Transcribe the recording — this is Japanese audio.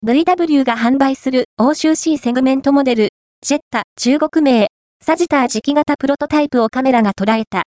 VW が販売する欧州 C セグメントモデル、ジェッタ中国名、サジター磁気型プロトタイプをカメラが捉えた